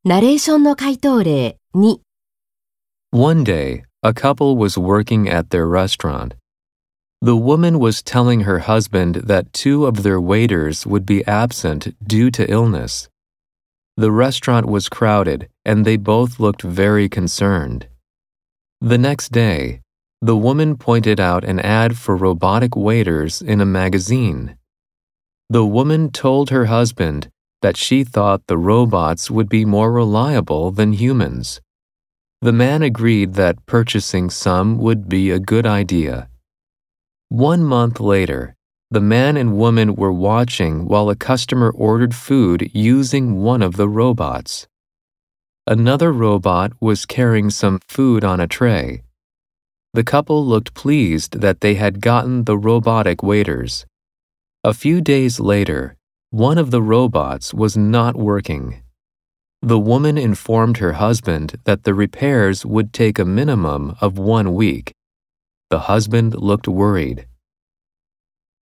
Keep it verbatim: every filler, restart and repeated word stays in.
ナレーションの回答例に。 One day, a couple was working at their restaurant. The woman was telling her husband that two of their waiters would be absent due to illness. The restaurant was crowded, and they both looked very concerned. The next day, the woman pointed out an ad for robotic waiters in a magazine. The woman told her husband that she thought the robots would be more reliable than humans. The man agreed that purchasing some would be a good idea. One month later, the man and woman were watching while a customer ordered food using one of the robots. Another robot was carrying some food on a tray. The couple looked pleased that they had gotten the robotic waiters. A few days later, one of the robots was not working. The woman informed her husband that the repairs would take a minimum of one week. The husband looked worried.